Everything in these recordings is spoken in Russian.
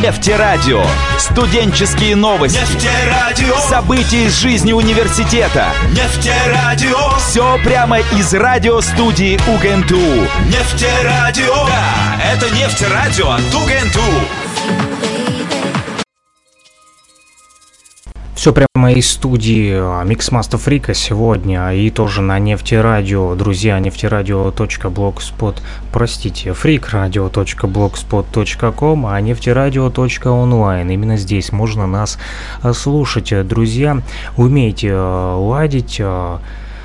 Нефтерадио. Студенческие новости. Нефтерадио. События из жизни университета. Нефтерадио. Все прямо из радиостудии УГНТУ. Нефтерадио. Да, это Нефтерадио от УГНТУ. Все прямо из студии Mixmaster Freak сегодня и тоже на Нефтерадио. Друзья, freakradio.blogspot.com, а нефтерадио.онлайн. Именно здесь можно нас слушать. Друзья, умейте ладить со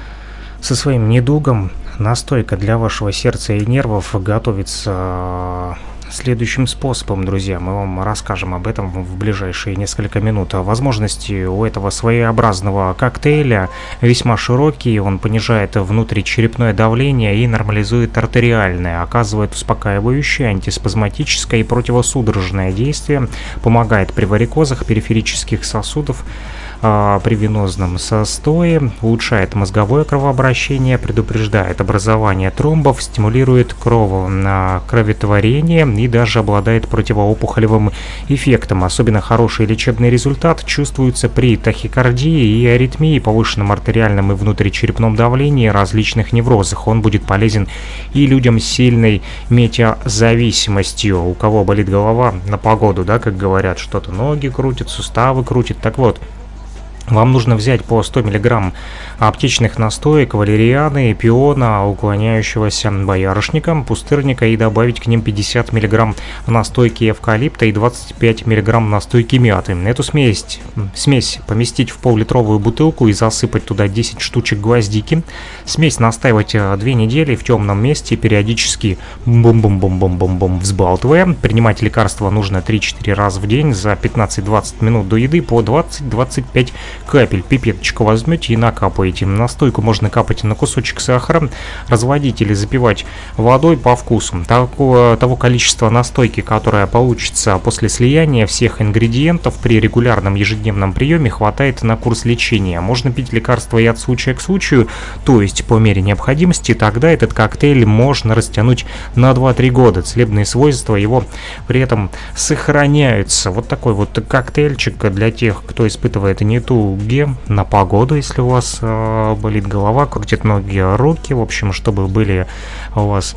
своим недугом. Настойка для вашего сердца и нервов готовится следующим способом, друзья. Мы вам расскажем об этом в ближайшие несколько минут. Возможности у этого своеобразного коктейля весьма широкие. Он понижает внутричерепное давление и нормализует артериальное, оказывает успокаивающее, антиспазматическое и противосудорожное действие, помогает при варикозах периферических сосудов, при венозном застое, улучшает мозговое кровообращение, предупреждает образование тромбов, стимулирует кроветворение и даже обладает противоопухолевым эффектом. Особенно хороший лечебный результат чувствуется при тахикардии и аритмии, повышенном артериальном и внутричерепном давлении, различных неврозах. Он будет полезен и людям с сильной метеозависимостью, у кого болит голова на погоду, да, как говорят, что-то ноги крутят, суставы крутят. Так вот, вам нужно взять по 100 мг аптечных настоек валерианы, пиона, уклоняющегося боярышника, пустырника и добавить к ним 50 мг настойки эвкалипта и 25 мг настойки мяты. Эту смесь поместить в пол-литровую бутылку и засыпать туда 10 штучек гвоздики. Смесь настаивать 2 недели в темном месте, периодически бум-бум-бум-бум-бум-бум взбалтывая. Принимать лекарства нужно 3-4 раза в день за 15-20 минут до еды по 20-25 капель. Пипеточку возьмете и накапаете. Настойку можно капать на кусочек сахара, разводить или запивать водой по вкусу. Того количества настойки, которое получится после слияния всех ингредиентов при регулярном ежедневном приеме, хватает на курс лечения. Можно пить лекарства и от случая к случаю, то есть по мере необходимости. Тогда этот коктейль можно растянуть на 2-3 года. Целебные свойства его при этом сохраняются. Вот такой вот коктейльчик для тех, кто испытывает недуги на погоду, если у вас болит голова, крутят ноги, руки, в общем, чтобы были у вас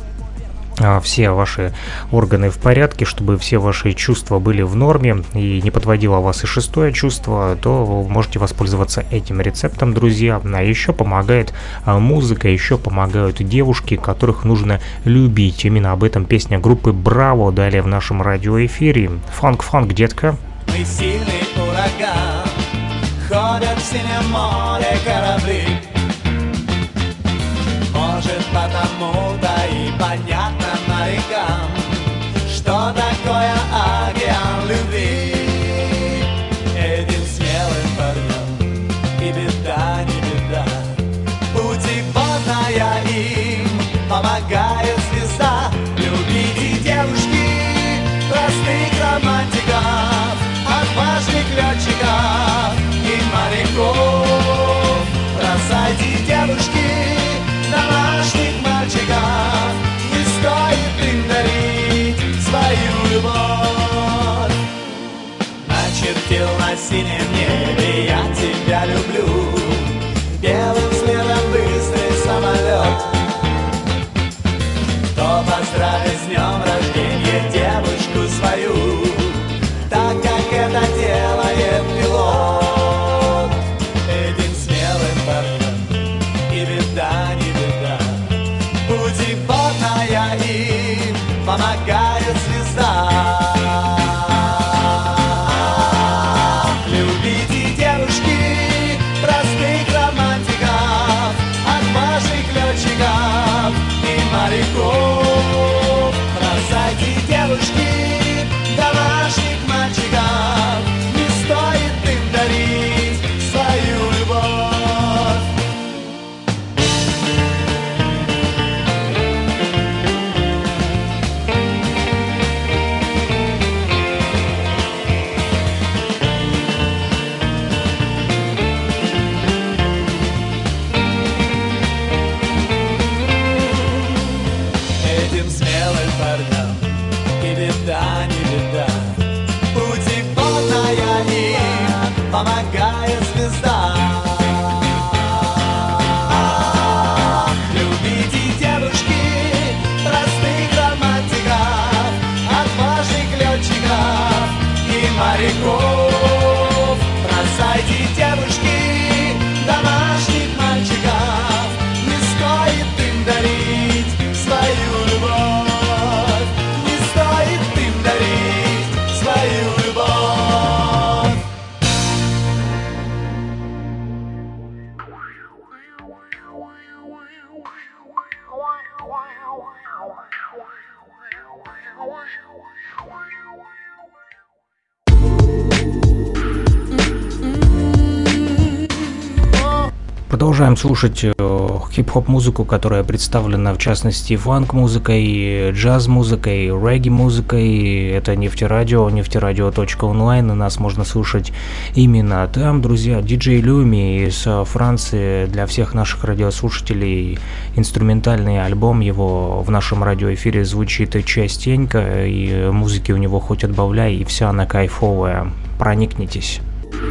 все ваши органы в порядке, чтобы все ваши чувства были в норме и не подводило вас и шестое чувство, то вы можете воспользоваться этим рецептом, друзья. А еще помогает музыка, еще помогают девушки, которых нужно любить. Именно об этом песня группы Браво далее в нашем радиоэфире. Фанк-фанк, детка. Мы сильный ураган, ходят в синем море корабли. Может, потому-то и понятно морякам, что такое океан любви. Этим смелым парням и беда, не беда. Путеводная им помогает звезда. Любите девушки, простых романтиков, отважных летчиков и моряков. Бросайте, девушки, домашних мальчиков, не стоит им дарить свою любовь. Начертил на синем небе я тебя люблю, белым следом быстрый самолет. Кто поздравит с днем рождения девушку свою, так как это делает пилот. Этим смелым парням и беда, не беда. Путеводная им помогает звезда. Любите Продолжаем слушать хип-хоп музыку, которая представлена в частности фанк-музыкой, джаз-музыкой, регги-музыкой. Это Нефтерадио, нефтерадио.онлайн, и нас можно слушать именно там, друзья. Диджей Люми из Франции, для всех наших радиослушателей инструментальный альбом его в нашем радиоэфире звучит частенько, и музыки у него хоть отбавляй, и вся она кайфовая. Проникнитесь.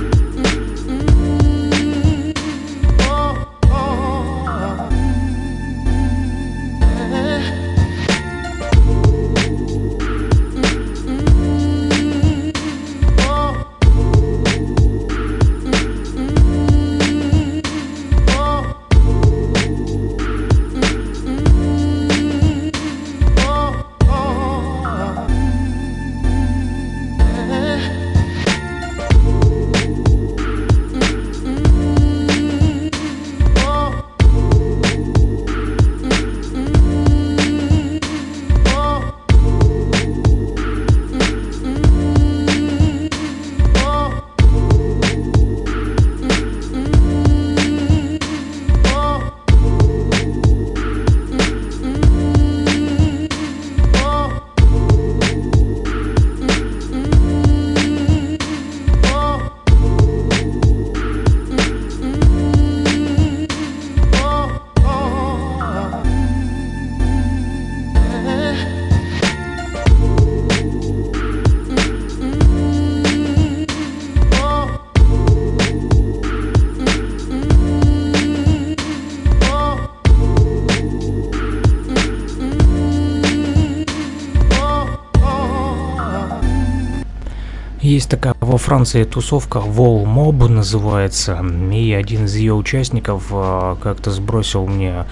Есть такая во Франции тусовка Wall Mob называется, и один из ее участников как-то сбросил мне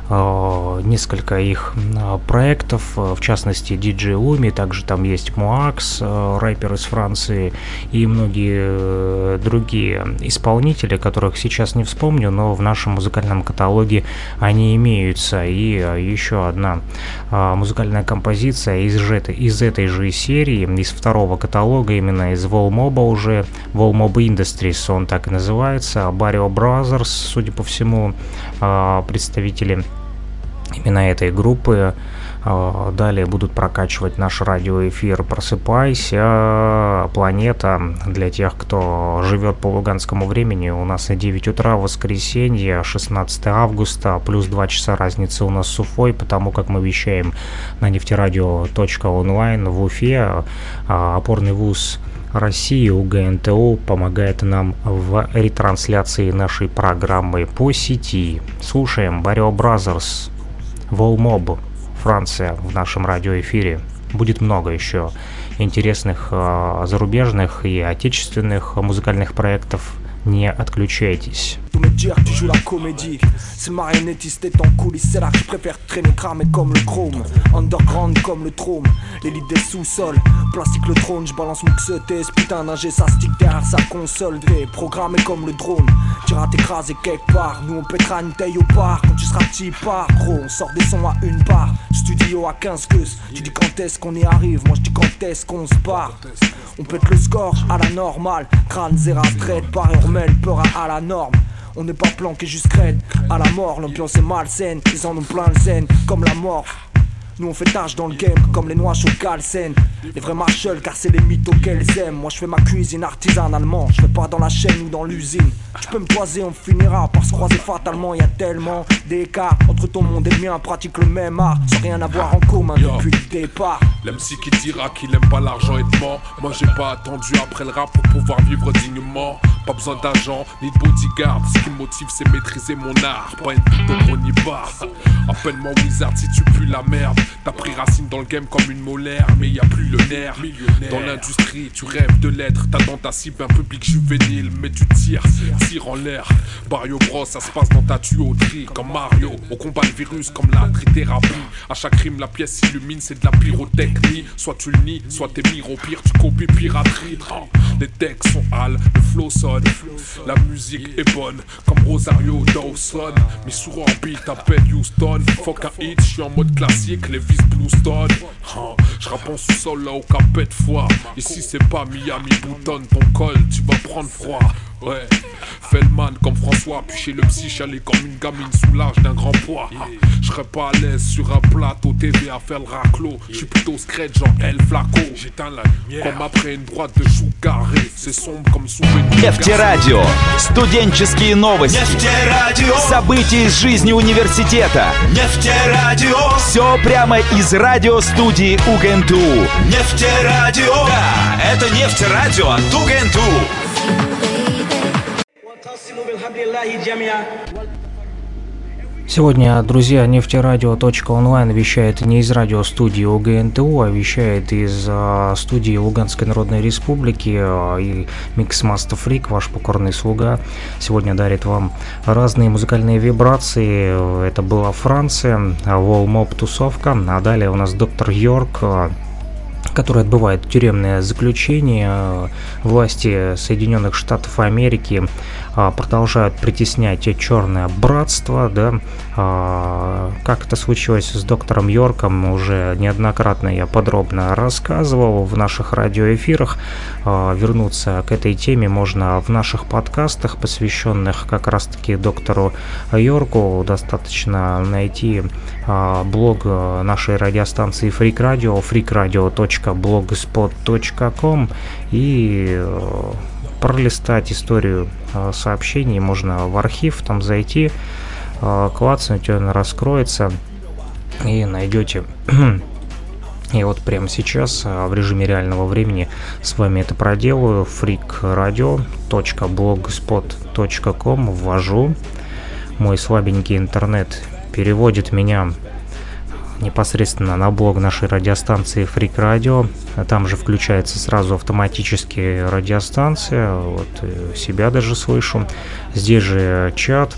несколько их проектов, в частности DJ Lumi, также там есть Муакс, рэпер из Франции, и многие другие исполнители, которых сейчас не вспомню, но в нашем музыкальном каталоге они имеются. И еще одна музыкальная композиция из этой же серии, из второго каталога, именно из Wall Mob уже, Wall Mob Industries, он так и называется, Barrio Brothers, судя по всему, представители именно этой группы. Далее будут прокачивать наш радиоэфир «Просыпайся, планета». Для тех, кто живет по луганскому времени, у нас 9 утра, воскресенье, 16 августа, плюс 2 часа разницы у нас с Уфой, потому как мы вещаем на нефтерадио.онлайн в Уфе. Опорный вуз России УГНТУ помогает нам в ретрансляции нашей программы по сети. Слушаем Barrio Brothers, Wall Mob, Франция в нашем радиоэфире. Будет много еще интересных зарубежных и отечественных музыкальных проектов. Не отключайтесь. Tous me dire tu joues la comédie. C'est le marionnettiste est en coulisses. C'est là que je préfère traîner cramé comme le chrome. Underground comme le trône. L'élite des sous-sols. Plastique le trône, je balance mon XET. Ce putain d'ingé ça stick derrière sa console. T'es programmé comme le drone. Tu iras t'écraser quelque part. Nous on pètera une taille au bar. Quand tu seras petit part gros, on sort des sons à une barre. Studio à 15 queues. Tu dis quand est-ce qu'on y arrive. Moi je dis quand est-ce qu'on se barre. On pète le score à la normale. Crâne zéra straight. Barre urmel, peur à la norme. On n'est pas planqué juste crête à la mort, l'ambiance est malsaine. Ils en ont plein le zen, comme la mort. Nous on fait tâche dans le game, comme les noix chaudes calcènes. Les vrais marshals, car c'est les mythos qu'elles aiment. Moi je fais ma cuisine artisanalement, je fais pas dans la chaîne ou dans l'usine. Tu peux me toiser, on finira par se croiser fatalement. Y'a tellement d'écart entre ton monde et le mien. Pratique le même art, sans rien avoir en commun depuis le départ. L'MC qui dira qu'il aime pas l'argent et ment. Moi j'ai pas attendu après le rap pour pouvoir vivre dignement. Pas besoin d'agent ni de bodyguard. Ce qui me motive c'est maîtriser mon art. Pas une pute donc on y va. Appelle-moi Wizard si tu pues la merde. T'as pris racine dans le game comme une molaire. Mais y a plus le nerf. Dans l'industrie tu rêves de l'être. T'as dans ta cible un public juvénile. Mais tu tire en l'air. Barrio Bros ça se passe dans ta tuyauterie. Comme Mario, on combat le virus comme la trithérapie. À chaque rime la pièce s'illumine, c'est de la pyrotechnie. Soit tu le nies, soit t'es mire au pire, tu copies piraterie. Les textes sont hal, le flow sonne. La musique est bonne, comme Rosario Dawson. Mis sur un beat, t'appelles Houston. Fuck un hit, j'suis en mode classique, les vis Bluestone. J'rappe en sous-sol là au capet de foi. Ici c'est pas Miami, boutonne ton col, tu vas prendre froid. Ouais, Feldman comme François, puis chez le psy, chialer comme une gamine sous l'âge d'un grand poids. Je serais pas à l'aise sur un plateau TV à faire le raclo. Je suis plutôt scratch genre El Flaco. J'éteins la lumière comme après une droite de chou carré. C'est sombre comme sous une... Нефтерадио. Студенческие новости. Нефтерадио. События из жизни университета. Нефтерадио. Все прямо из радиостудии УГНТУ. Нефтерадио. Да, это Нефтерадио от УГНТУ. Сегодня, друзья, нефтерадио.онлайн вещает не из радиостудии УГНТУ, а вещает из студии Луганской Народной Республики, и Mixmaster Freak, ваш покорный слуга, сегодня дарит вам разные музыкальные вибрации. Это была Франция, Wall-Mob тусовка, а далее у нас доктор Йорк, который отбывает тюремное заключение. Власти Соединенных Штатов Америки продолжают притеснять черное братство, да. Как это случилось с доктором Йорком, уже неоднократно я подробно рассказывал в наших радиоэфирах. Вернуться к этой теме можно в наших подкастах, посвященных как раз-таки доктору Йорку. Достаточно найти блог нашей радиостанции Freak Radio, freakradio.blogspot.com, и пролистать историю сообщений. Можно в архив там зайти, клацнуть, он раскроется, и найдете. И вот прямо сейчас в режиме реального времени с вами это проделаю. freakradio.blogspot.com ввожу. Мой слабенький интернет переводит меня непосредственно на блог нашей радиостанции Freak Radio. Там же включается сразу автоматически радиостанция. Вот себя даже слышу. Здесь же чат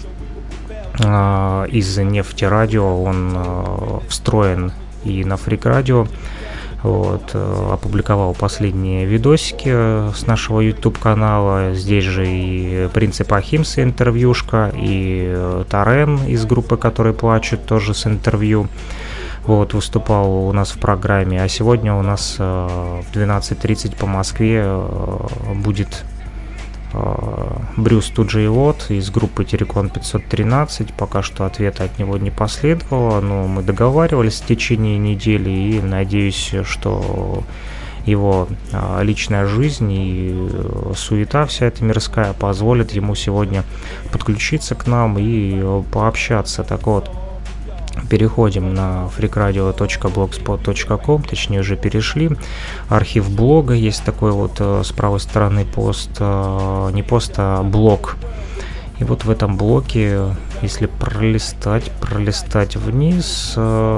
из Нефтерадио. Он встроен и на Freak Radio. Вот, опубликовал последние видосики с нашего YouTube канала. Здесь же и Принцип Ахимса интервьюшка, и Тарен из группы «Которые плачут» тоже с интервью. Вот, выступал у нас в программе. А сегодня у нас в 12:30 по Москве будет Брюс Туджиевод из группы Терекон 513. Пока что ответа от него не последовало, но мы договаривались в течение недели, и надеюсь, что его личная жизнь и суета вся эта мирская позволит ему сегодня подключиться к нам и пообщаться. Так вот, переходим на freakradio.blogspot.com, точнее уже перешли. Архив блога, есть такой вот с правой стороны пост, не пост, а блог. И вот в этом блоке, если пролистать вниз,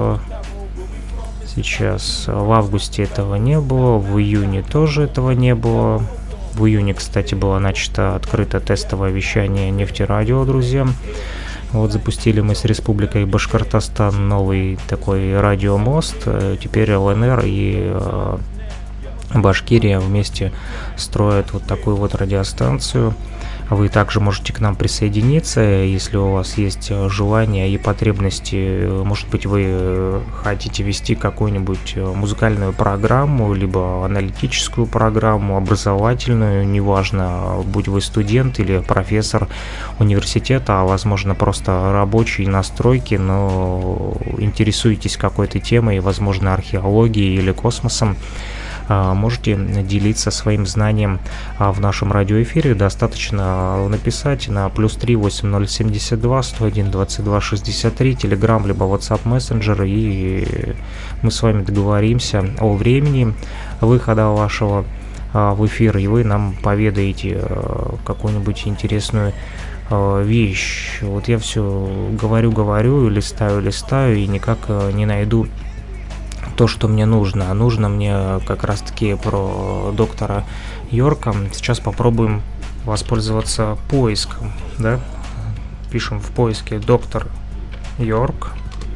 сейчас в августе этого не было, в июне тоже этого не было. В июне, кстати, было начато открыто тестовое вещание Нефтерадио, друзья. Вот запустили мы с Республикой Башкортостан новый такой радиомост. Теперь ЛНР и Башкирия вместе строят вот такую вот радиостанцию. Вы также можете к нам присоединиться, если у вас есть желание и потребности. Может быть, вы хотите вести какую-нибудь музыкальную программу, либо аналитическую программу, образовательную, неважно, будь вы студент или профессор университета, а возможно просто рабочий на стройке, но интересуетесь какой-то темой, возможно, археологией или космосом. Можете делиться своим знанием в нашем радиоэфире. Достаточно написать на +3 8072 101 22 63 Telegram либо WhatsApp Messenger, и мы с вами договоримся о времени выхода вашего в эфир, и вы нам поведаете какую-нибудь интересную вещь. Вот я все говорю, листаю и никак не найду то, что мне нужно. А нужно мне как раз-таки про доктора Йорка. Сейчас попробуем воспользоваться поиском, да? Пишем в поиске доктор Йорк.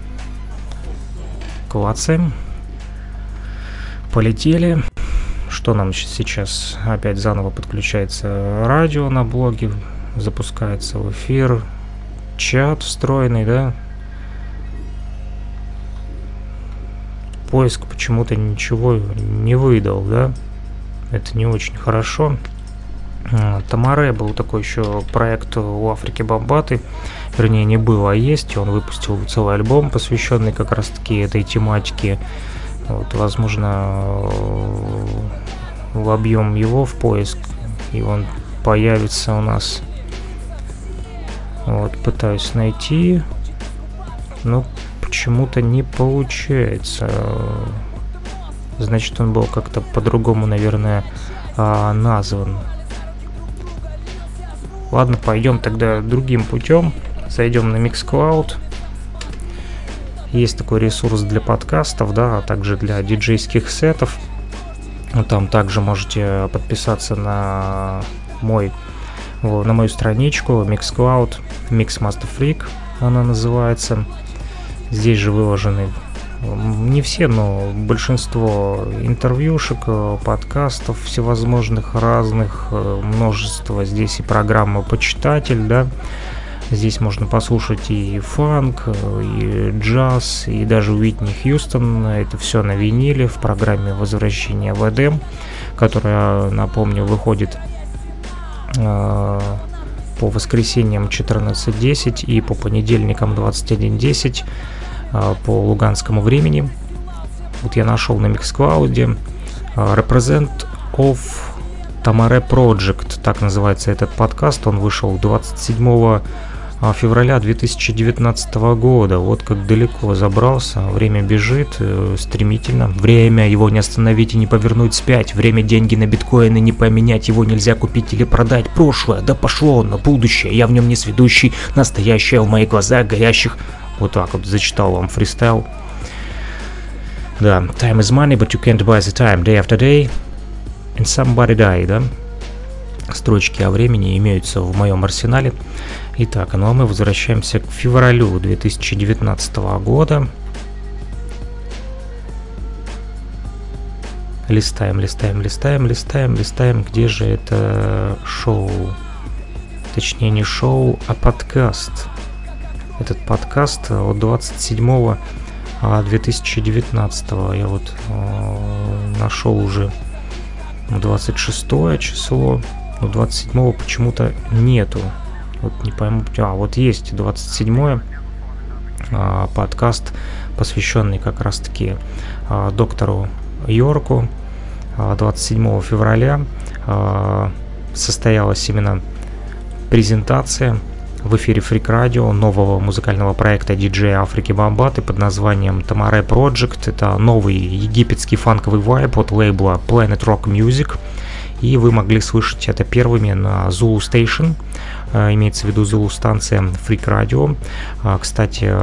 Клацаем. Полетели. Что нам сейчас? Опять заново подключается радио на блоге. Запускается в эфир. Чат встроенный, да? Поиск почему-то ничего не выдал, да? Это не очень хорошо. Тамаре был такой еще проект у Африки Бамбаты, вернее не был, а есть, и он выпустил целый альбом, посвященный как раз-таки этой тематике. Вот, возможно, вобьем его в поиск, и он появится у нас. Вот, пытаюсь найти, но почему-то не получается. Значит, он был как-то по-другому, наверное, назван. Ладно, пойдем тогда другим путем. Зайдем на Mixcloud. Есть такой ресурс для подкастов, да, а также для диджейских сетов. Там также можете подписаться на мою страничку Mixcloud, Mixmaster Freak она называется. Здесь же выложены не все, но большинство интервьюшек, подкастов всевозможных разных, множество. Здесь и программа «Почитатель», да. Здесь можно послушать и фанк, и джаз, и даже Уитни Хьюстон. Это все на виниле в программе «Возвращение в Эдем», которая, напомню, выходит по воскресеньям 14:10 и по понедельникам 21:10 по луганскому времени. Вот я нашел на Mixcloud Represent of Tamare Project, так называется этот подкаст. Он вышел 27 февраля 2019 года. Вот как далеко забрался. Время бежит стремительно. Время его не остановить и не повернуть вспять. Время деньги на биткоины не поменять. Его нельзя купить или продать. Прошлое, да пошло на будущее. Я в нем не сведущий. Настоящее в моих глазах горящих. Вот так вот зачитал вам фристайл. Да, time is money, but you can't buy the time. Day after day, and somebody die, да? Строчки о времени имеются в моем арсенале. Итак, ну а мы возвращаемся к февралю 2019 года. Листаем. Где же это шоу? Точнее, не шоу, а подкаст. Этот подкаст от 27 2019 я вот нашел уже 26 число, но 27 почему-то нету. Вот не пойму. Вот есть 27 подкаст, посвященный как раз-таки доктору Йорку. 27 февраля состоялась именно презентация в эфире Freak Radio нового музыкального проекта диджея Африки Бамбаты под названием Tamare Project. Это новый египетский фанковый вайб от лейбла Planet Rock Music. И вы могли слышать это первыми на Zulu Station, имеется в виду Zulu станция Freak Radio. Кстати,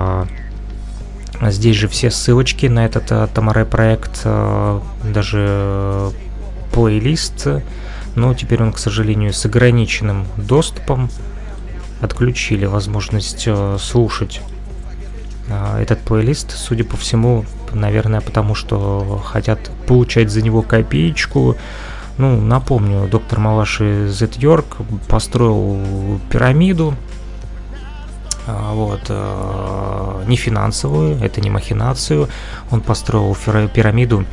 здесь же все ссылочки на этот Tamare проект, даже плейлист, но теперь он, к сожалению, с ограниченным доступом. Отключили возможность слушать этот плейлист, судя по всему, наверное, потому что хотят получать за него копеечку. Ну, напомню, доктор Малаши Зет Йорк построил пирамиду, вот, не финансовую, это не махинацию. Он построил пирамиду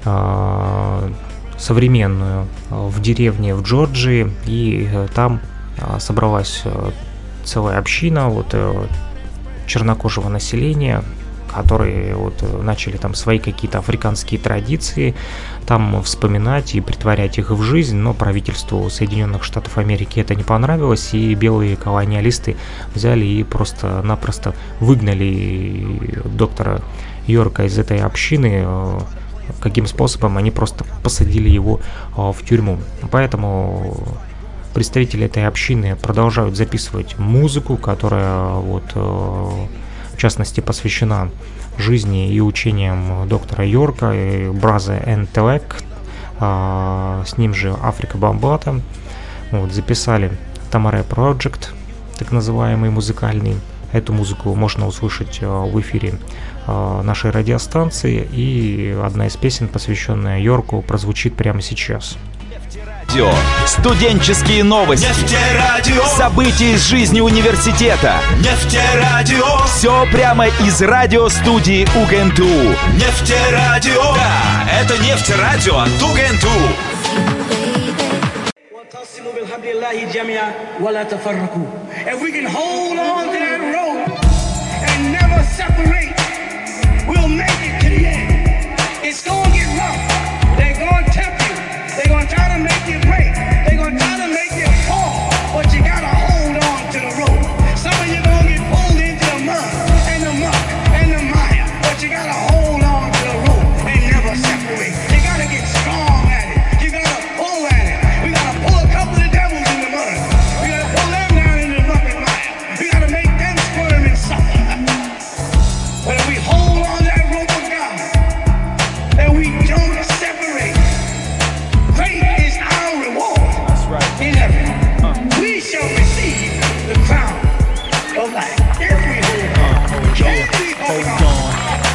современную в деревне в Джорджии, и там собралась целая община вот чернокожего населения, которые вот начали там свои какие-то африканские традиции там вспоминать и притворять их в жизнь, но правительству Соединенных Штатов Америки это не понравилось, и белые колониалисты взяли и просто-напросто выгнали доктора Йорка из этой общины. Каким способом? Они просто посадили его в тюрьму. Поэтому представители этой общины продолжают записывать музыку, которая вот в частности посвящена жизни и учениям доктора Йорка и Brother Intellect, с ним же Африка Бамбата. Вот, записали Tamare Project, так называемый музыкальный. Эту музыку можно услышать в эфире нашей радиостанции, и одна из песен, посвященная Йорку, прозвучит прямо сейчас. Студенческие новости. Нефтерадио. События из жизни университета. Нефтерадио. Все прямо из радиостудии УГНТУ. Нефтерадио. Да, это Нефтерадио от УГНТУ. If we can hold on to that rope and never separate, we'll make it to the end. It's gonna get rough. They're gonna tempt you. They're gonna try to make you break. They're gonna try to make you fall. But you gotta hold on to the rope. Some of you gonna get pulled into the mud and the muck and the mire. But you gotta hold on to the rope and never separate. You gotta get strong at it. You gotta pull at it. We gotta pull a couple of devils in the mud. We gotta pull them down into the muck and mire. We gotta make them squirm and suffer. But if we hold on to that rope of God and we don't separate, great is our reward. That's right. In heaven. We shall receive the crown of life. If we hold on. Can we hold on?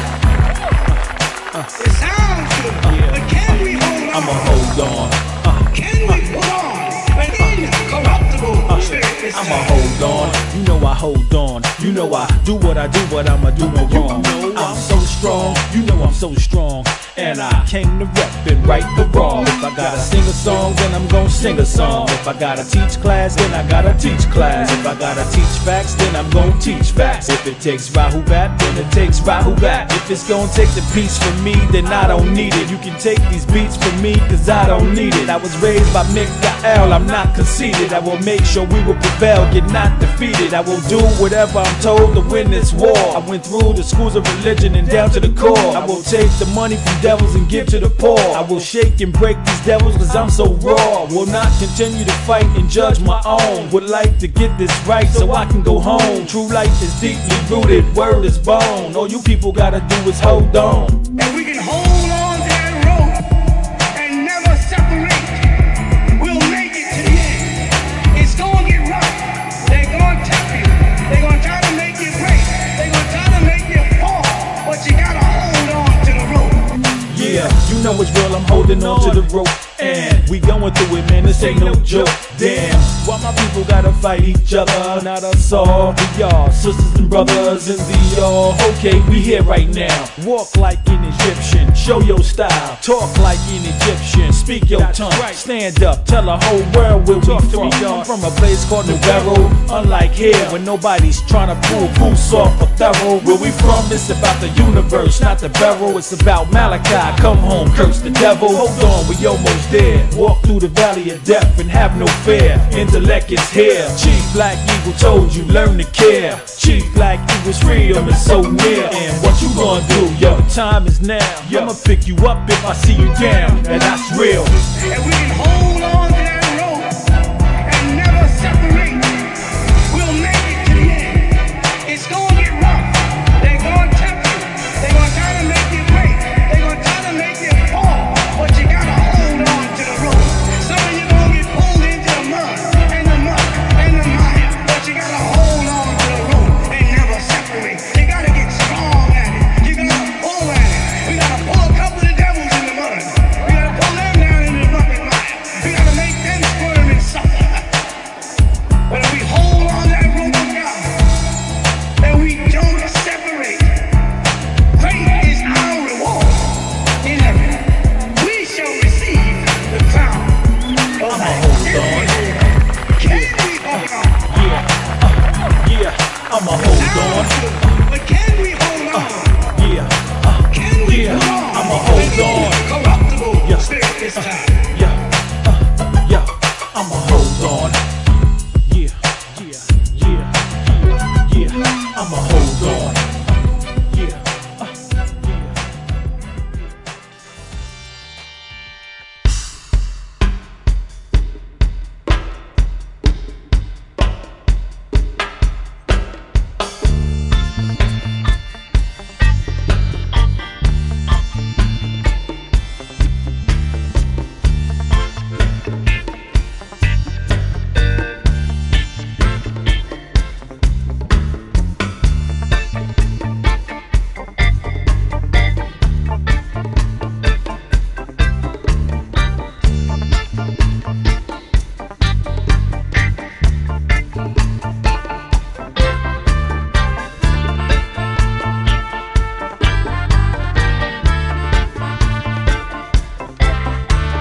It sounds good, but can we hold on? I'ma hold on. Can we put on an incorruptible spirit? I'ma hold on. You know I hold on. You know I do what I do, but I'ma do no wrong. I'm so strong. You know I'm so strong. And I came to rep and right the wrong. If I gotta sing a song, then I'm gonna sing a song. If I gotta teach class, then I gotta teach class. If I gotta teach facts, then I'm gonna teach facts. If it takes Rahu Bat, then it takes Rahu Bat. If it's gonna take the piece from me, then I don't need it. You can take these beats from me, cause I don't need it. I was raised by Mikael, I'm not conceited. I will make sure we will prevail, get not defeated. I will do whatever I'm told to win this war. I went through the schools of religion and down to the core. I will take the money from devils and give to the poor. I will shake and break these devils cause I'm so raw. Will not continue to fight and judge my own. Would like to get this right so I can go home. True life is deeply rooted, word is bone. All you people gotta do is hold on. If we can hold on to that rope and never separate, we'll make it to the end. It's gonna get rough. They're gonna tempt you. They're gonna try to make you break. They're gonna try to make you fall. But you gotta hold on to the rope. Yeah, you know it's real, I'm holding on to the rope. And we going through it, man, this ain't no joke. Damn, why my people gotta fight each other? Not us all, we all sisters and brothers in the all. Okay, we here right now. Walk like an Egyptian, show your style. Talk like an Egyptian, speak your tongue. Stand up, tell the whole world where we from. I'm from a place called New Barrow. Unlike here, when nobody's trying to pull goose off a thorough. Where we from, it's about the universe, not the barrel. It's about Malachi, come home, curse the devil. Hold on, we almost there. Walk through the valley of death and have no fear. Intellect is here. Chief Black Eagle told you, learn to care. Chief Black Eagle's freedom is so near. And what you gonna do, yo? The time is now. I'ma pick you up if I see you down. And that's real. And we can hold